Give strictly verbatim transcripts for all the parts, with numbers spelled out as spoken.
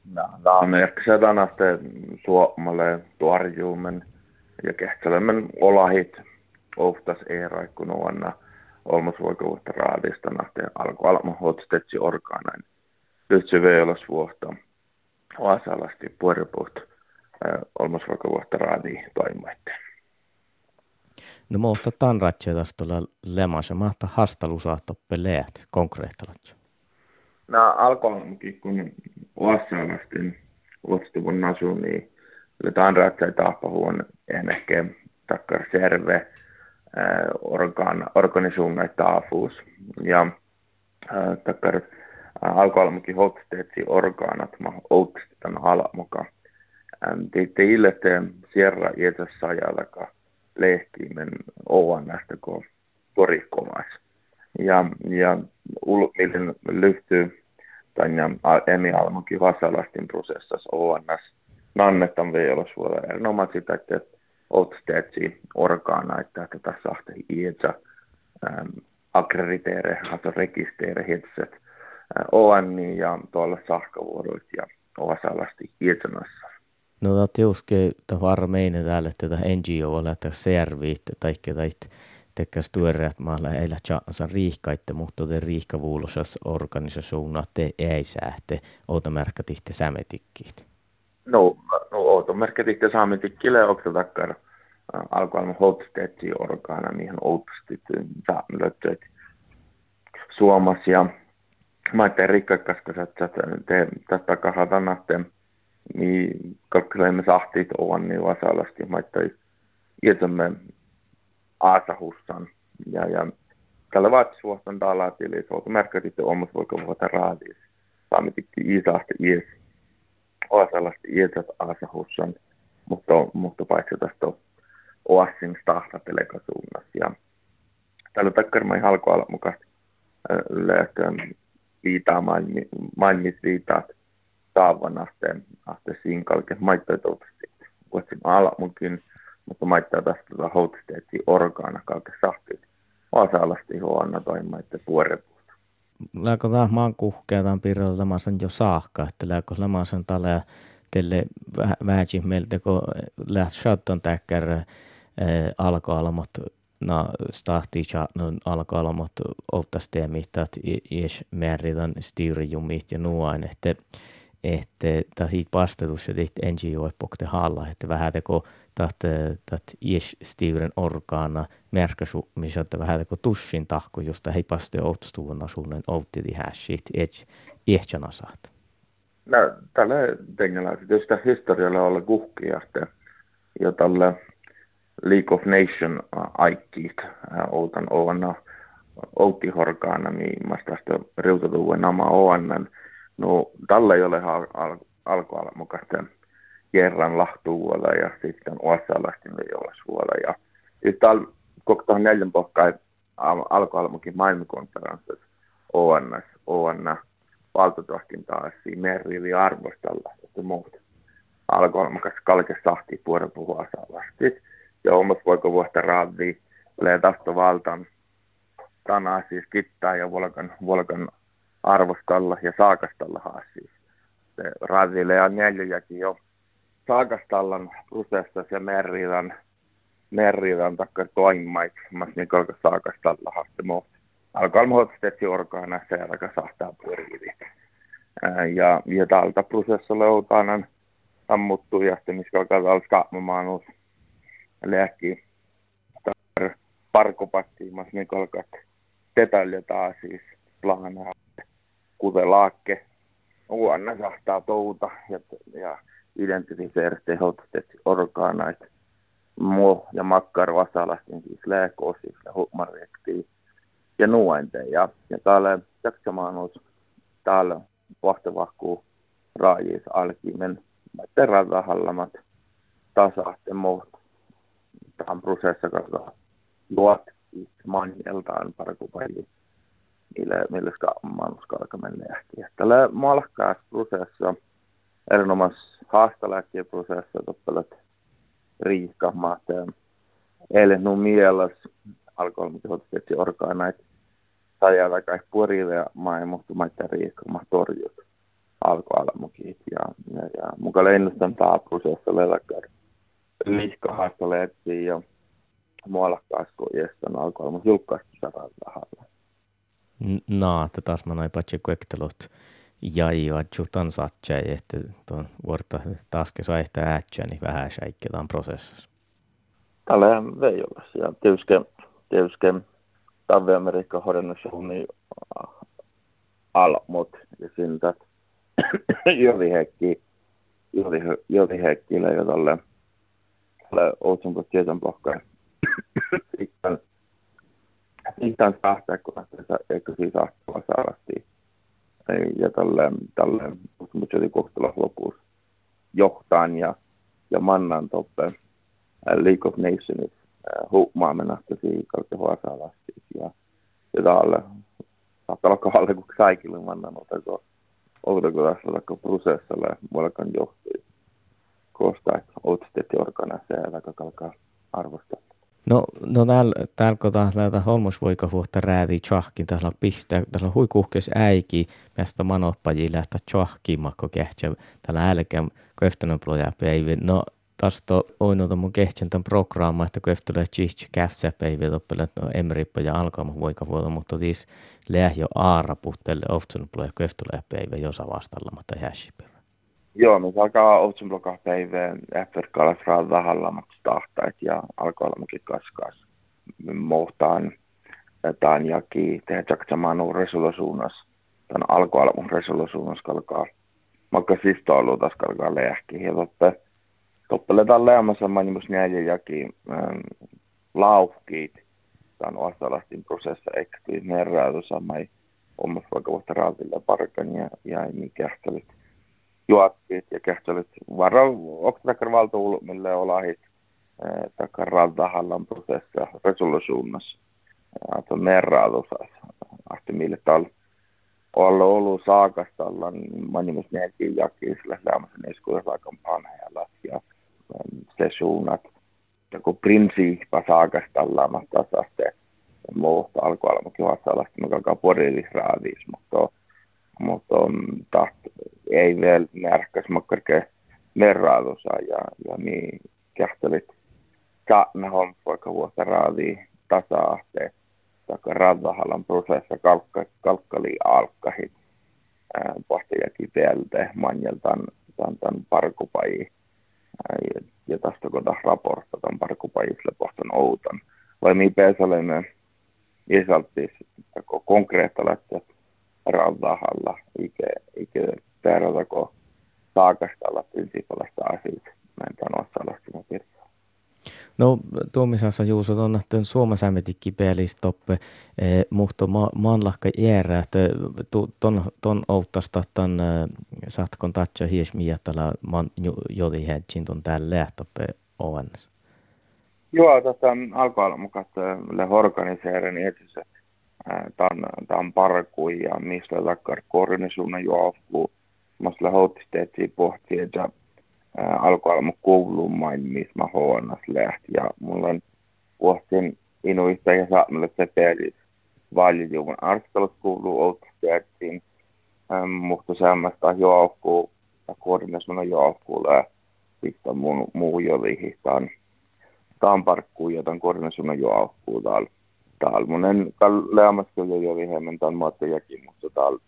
Tämä on ehkä sedanaste suomalle tuorjuumen ja kehtsälemmen olahit oftas eeraikun vuonna olmosvoikavuutta raadista nahteen alkualma hotstetsi orgaanain. Lyhtsy veilosvuotta oasalasti puoripuht olmosvoikavuutta raadi toimaitteen. No mutta tämän ratsia tästä tuolla lemassa. Mahtaa hastalu saattoppe leät konkreettalat. No alkualmakin kun oasalasti luotstuvun nasu, niin tämän ratsia tahpahuon ennekkä takkar serve organ, organisuunnan taafuus. Ja äh, takkar äh, alkualmakin hotsteetsi orgaanat ma outstan alamuka. Det är illet sierra iätässä ajalaka lehtimen ovannasta kun korikkomas. Ja, ja ulmillen lyhtyy tänne emi almakin vasalastin prosessassa ovannas nannetan veilosvuoda erinomaan sitä, että otsteetsi orgaana, että tätä sahte iätsä akkrediteere, alltså rekisteere hitset oanni ja tuolla sahkavuoroit ja ovasalasti iätsämässä. No tämä tiuske varmeinen täällä, että tätä N G O että serviit tai tai tekäs tuoreat maalla ei lähtee riihkaitte, mutta te riihkavuulosas organisaationa te ei sähte outomärkätihte sämetikkiit. No, no outomärkätihte sämetikkille onko takkar alkualma hotsteetsi orgaana niihin outstit sämlöttöit Suomas ja mä ajattelin rikkaiskaskassa, että te tästä kahdanahteen niin kalkkelemme sahtiit on niin vasalasti, mä ajattelin iätämme Aasahussan. Ja, ja tällä vaatisuostan talatili, se on merkitty omassa voiko vuota raadis. Saamitikki Iisahti ies, Oasalasti iesät Aasahussan, mutta, mutta paitsi tästä Oassin stahtateleikasuunnassa. Ja tällä takkarmai halkoalla mukaan löytyy viitaa mainmisviitaat taavan asteen, asteen sinkalke, maittoitoutasti. Vuotsin alamunkin, mutta maittaa tästä hotsteetsi orgaana kalke sahtiit. Oasalasti huona toimaitte puorepuusta. Lääkö tämä maan kuhkea tämän piirrellä lamasen jo saakka, että lääkö lamasen tälle teille vähäkin meiltä, kun läht shotton täkkär alkoalamat na stahti chatnon alkoalamat ottasteemit, että jos määritän styrjumit ja nuoin, että että tämä vastatus ja tehty N G O-epokte halla, että vähän teko että ies-stiuren orgaana märkäsu, missä että vähän teko tussin tahko, josta hei paste outstuun asunnon outtidi hässit, et ehtsana saat. No, tällä tengellä, jos tämä historialla olla kuhkia, ja tällä League of Nations aikkiit, outan ovana outtihorgaana, niin mä tästä riutatuuen nama oannan. No, tällä ei ole al- al- alkualla mukaista kerran lahtuvuolla ja sitten osalastin vejolasvuolla. Ja sitten täällä koko neljän pohkaa alkualmukin maailmankonferenssissa O N S, O N valtotahkin taas merrivi arvostalla, että muut alkualmukas kalke sahti puolen puhua osalastit. Ja omassa voiko vuotta raadii, tulee tästä valtan tänään siis kittaa ja volkan, volkan arvostalla ja saakastalla haassiis. Se raadille ja neljäkin jo saakastallan prosessissa ja merridan, merridan takkar toimait, mas niin kalka saakastalla haaste muut. Alkaa muodostetsi orgaana se alkaa sahtaa pyörivi. Ja, ja tältä prosessilla joutaan ammuttu ja sitten missä alkaa täällä skaamaan uusi lääkki parkopattiin, mas niin kalka detaljetaan siis plaanaa. Kuten laakke, uanna sahtaa touta ja, ja identifieeriste hotsteetsi orgaanait, muu ja makkar vasalastin siis lääkoosis ja hummareektiin ja nuointeen. Ja, ja täällä jaksamanus täällä vahtavahkuu raajis alkimen, maitten ratahallamat tasahte muut. Tähän prosessa katsotaan luot manjeltaan parkupajia. Millä, millä maailmaskalka menee ähkiä. Tällä malkkaassa prosessa, erinomaisessa haastaläkkien prosessa, toppelet riihkahmaat, eilen nuo mielessä alkoholimihoitotetsi orgaanait, sajalla kai puolille ja maailmohtumaita riihkahmaat torjut. alkualamukin. Ja, ja, ja mukaan ennustan tämä prosessi lelakar liikahasta leettiin ja muolakkaasku iestän alkualamus julkaistu saralla tahalla. No, että taas mä noin patsi kuektelot jäi adjutan satsa, että tuon vuorta taas sai sitä äätsää, niin vähän säikketaan prosessissa. Tällä vei olla. Ja tietysti, tietysti Tavi-Amerikka hodennussuunni almut ja siltä jolihekki jolihekkiille ja tälle Outsunko tietän pohkaan. Sitten sitten saahtaa, kun eikö siis saahtaa saavasti. Ja tälle, tälle Outsunko jotin kohtelus lopussa johtaan ja, ja mannan toppe League of Nations huumaamenasta siihen kautta huosaalasti. Ja, ja täällä saattaa olla kahden kuin kaikille mannan otako otako tässä otako prosessalle muodokan johtajia. Koostaa, että otsitetti organiseja ja kalkaa arvostaa. No, no täällä, täällä kun täällä holmusvoikavuotta räätii tjahkin, täällä pistää, täällä huikuhkes äiki, mistä manoppaji lähtää tjahkiin, makko kehtsä, täällä älkään köftänön plojapäivä. No, tästä on ollut mun kehtsän tämän programma, että köftänön tjihti käftsäpäivä, toppelet no emrippa ja alkaa voikavuotta, mutta tis läh jo aarapuhtelle oftsun ploja köftänöpäivä, jos vastalla, mutta hässipä. Joo, me alkaa Outsunblokan päivään F-verkkaalas raadahallamatta tahtait ja alkaa olla mukin kaskas. Mohtaan tämän jaki tehdä jaksamanu resolusuunnas. Tämän alkualamun resolusuunnas kalkaa. Makka sistoilu taas kalkaa lehki. Ja toppe, toppeletaan leamassa manimus näiden jaki ähm, laukkiit. Tämän osalastin prosessa ekstyi merraatu samai omassa vaikka vuotta raatille parkan ja, ja niin kähtelyt. Juottiit ja kähtelyt varra oktakar valtuulu, mille olahit takar raltahallan prosessa resolusuunnassa. Että merraadusas. Ahti mille tal olla ollut saakastalla, niin manimus näkin jakii sillä lämmässä neskuudesaikan panheella ja se suunnat. Ja kun prinsiippa saakastalla, mä taas se muuta alkualamukin vastaavasti, mä kalkaa porillisraadiis, mutta mutta taht ei vielä närkäs makkarke merraadusa ja, ja niin kähtelit saatna holmpoika vuotta raadii tasa-ahteen taka radahallan prosessa kalkka, kalkkali alkkahit pohtajakin päältä manjeltan tämän, tämän parkupaji ja, ja tästä kun taas raportta tämän parkupajisle pohtan outan vai mi pääsälemme isaltis konkreettalaista raudahalla, eikä, eikä tehdäkö saakastalla prinsiipalasta asioita. Mä en tämän osallistunut virtaa. No, tuomisassa Juuso on nähty Suomessa ämmetikki peilistoppe, eh, mutta ma, maanlahka jäärä, että ton, ton outtasta tämän saatkon tatsa hiesmiä tällä man jodi hedgin ton täällä lähtöppe ovennassa. Joo, tästä alkaa mukaan organiseerin etsi tämän parkui ja mistä takkar koordinaisuuden juokuu. Mä houtisteetsiin pohtia, että alkoi olla mun kouluun main, missä mä huonas lähti. Ja mulla on vuosien inuista ja saamille se pelis valjuun. Arskalut kuuluu houtisteetsiin, mutta semmoista juokuu ja koordinaisuuden juokuu lähti mun muu jolihin. Tämän parkkuun ja tämän koordinaisuuden juokuu täällä. Täällä monen leamassa kyllä jo hieman tämän maattejakin, mutta täällä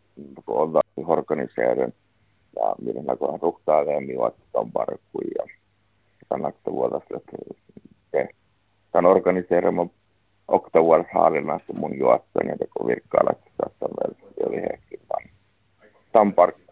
on organiseerin ja miten näköään ruhtaa leemiä, että tämän parkkuun ja tämän vuodesta, että tämän organiseerin oktavuodessa haalinnaista mun juotteen ja teko virkkailla, että saattaa vielä jo lihekin tämän parkkuun.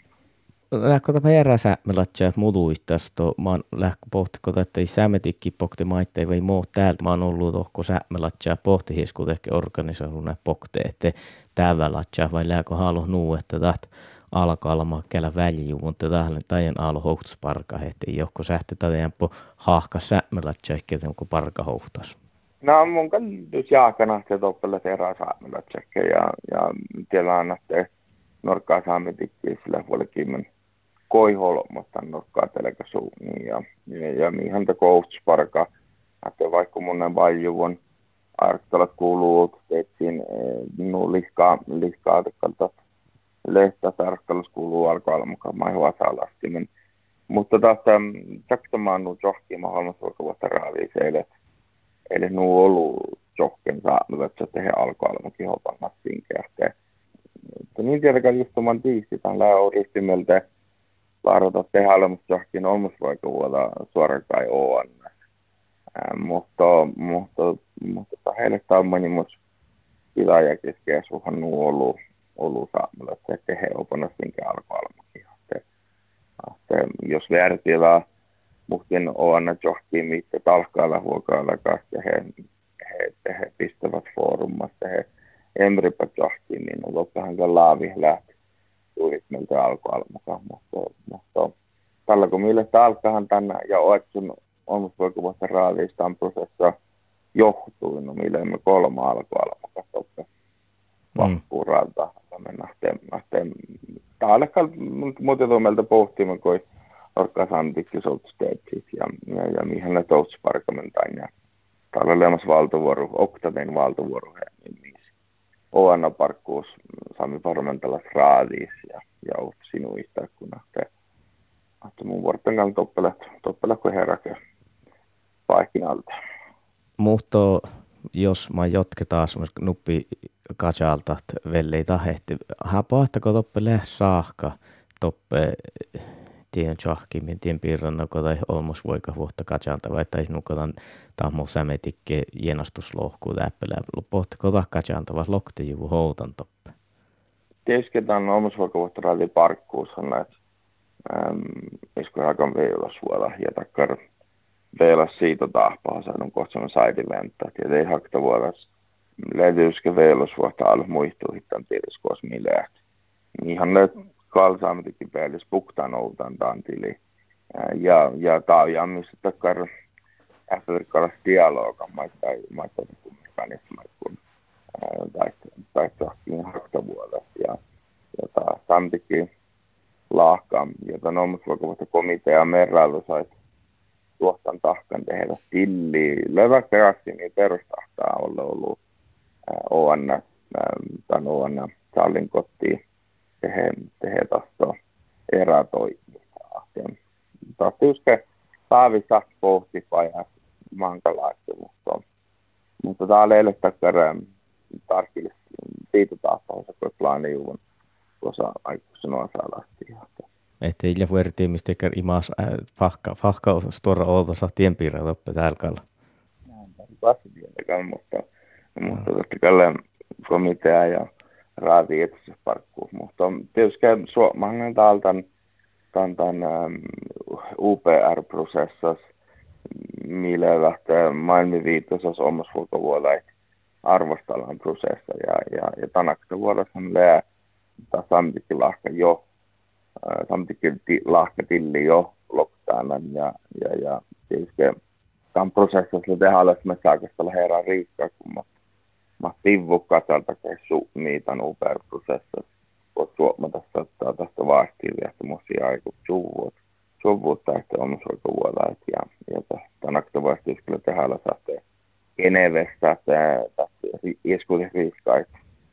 Lähkö tämä järjäsä me latsia muduittasto, mä oon lähkö pohtiko, että ei sämetikki pohti maitteen vai muu täältä, mä oon ollut tohko sä me latsia pohti hiesku ehkä organisoidun pohti, että täällä latsia vai lähkö halu nuu, että taht alkaa olla kellä väljuu, mutta tähän tajan alo hohtusparka, että johko sähti tätä po haahka sä me latsia ehkä onko parka hohtas. No mun kannus jaakana se toppelle terää saa me latsia ja, ja tiedän, että norkkaa saametikki sillä puolella kymmen koiholmasta nokkaa telkäsuuniin ja, ja, ja mihin te koulutusparka, että vaikka monen valjuvon arktalat kuuluu, että no liskaa, liskaa tekalta lehtä tarkkallus kuuluu alkoalla mukaan maihua salastimen. Mutta taas taktamaan nuo johkiin maailmassa vuotta raaliin eilen. Eli nuo ollut johken saanut, että se tehdään alkoalla mukin hopanna sinkeähtää. Niin tietenkään just oman tiisti, tämän lähe ristimeltä vaarata tehdä olemassa johonkin olmus vaikka vuoda suoraan kai O N. Mutta, mutta, mutta heille tämä on monimus pitäjä keskeä suhan nuu ollut, ollut saamalla, että se tehdään opana sinkä alkoalmakin. Jos vertilaa muhtin O N johonkin, mitkä talkailla huokailla kanssa, he, he, he pistävät foorumassa, he emripät johonkin, niin on loppuhan se laavi lähti. Tulit meiltä alkoalmukaan, mutta, mutta tällä kun mielestä alkahan tänne ja oetsun olmusvoikuvuutta raaliistaan prosessa johtui, no millä emme kolme alkoalmukaan totta vahkuuralta. Me nähteen, nähteen, täällä muuten meiltä pohtimme, kun orkasantikki soltsteetsit ja, ja, ja mihin ne toutsparkamentain ja täällä oli olemassa valtovuoro, Oktavein valtovuoro, niin O N-parkkuus saamme parlamentalas raadiis ja, ja oot sinuista, kun nähtee, että mun vuorten kanssa toppelet, toppelet kun heräkö paikinalta. Muhto, jos mä jotketaan nuppi katsalta, että vellei tahehti, hän pahtako toppele saakka, toppe tien tjahkimin, tien piirrannako tai olmus voika vuotta katsalta, vai tai nukotan tahmo sämetikke jenastuslohkuu läppelä, pohtako ta katsalta, vai lokte juvu houtan toppe? Tietysti tämän olmus voika vuotta raadi parkkuus on näitä, isku hakan veilasvuoda, ja takkar veilas siitä tahpaa, saadun kohtaan saidiventtä, ja ei hakta vuodas löytyisikö veilasvuotta alu muistuu hittan tiedäskoos millään. Ihan ne kalsaametikin päällys puktaan outan tantili. Ja, ja tämä on missä takkar afrikkalais dialoga, maittai mekanismit kun tai tohkin haktavuodas. Ja, ja taas tantikin laahka, jota nomusvoikuvasta komitea merrailu sais tuohtan tahkan tehdä tilli. Leväkkärästi niin perustahtaa olla ollut O N, tämän O N sallin kotiin. Tehe, tehe tästä erätoimista. Taas tietysti päivissä pohti pajas mankalaista, mutta, mutta tämä on eilen takkara tarkille siitä taapauksessa, kun plaanijuun tuossa aikuisen osalasti. Että illä vuortiin, mistä imas fahka, fahka stora oltosa tienpiirrät oppe tälkalla. Näin, tämä mutta, mutta totta kai komitea ja raadi etsissä parkkuus. Mutta tietysti suomalainen täältä tämän, tämän um, U P R-prosessissa, millä lähtee maailman viitoisessa omassa ulkovuodessa arvostellaan prosessa. Ja, ja, ja tänäkö vuodessa on lää, tämä samtikin lahka jo, samtikin lahka tilli jo lockdownan. Ja, ja, ja tietysti tämän prosessissa tehdään alles me saakastella herran riikkaa, kun mä Mä sivvu katsalta kessu niitä U P R-prosessissa. Voit suomata ottaa tästä vastiivia, musia aiku suvut. Suvut tästä omasoikovuoda. Ja, ja tänäkö vastiivia kyllä tehdään saatte Genevestä, tästä ieskuuden riiskait.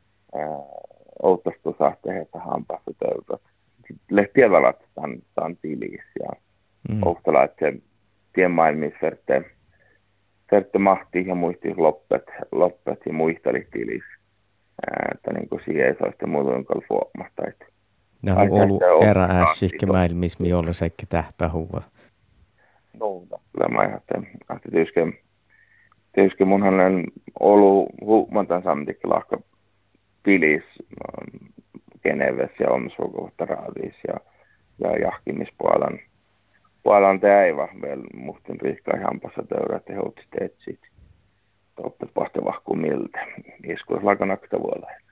Outtastu saatte, että hampaassa töydät. Lehtiä velat tämän tiliis. Ja mm. outtala, että se tien maailmissa verteen. Sertte mahti ja muisti loppet, loppet ja muisteli tilis. Että niin kuin siihen ei saa sitten muuta jonka fuomasta. Ja on ollut erä ässihkä maailmissa, mi olla seikki tähpä huva. No, kyllä mä ajattelin. Tietysti, tietysti munhan on ollut huumantan samtikin lahka tilis Genevessä ja omisuukoutta raadis ja, ja jahkimispuolan. Puolan teäivä vielä muhtin riikkaa hampassa töydät ja houtisteet sit. Toppet vasta vahku miltä. Iskuus lakanakta vuolla.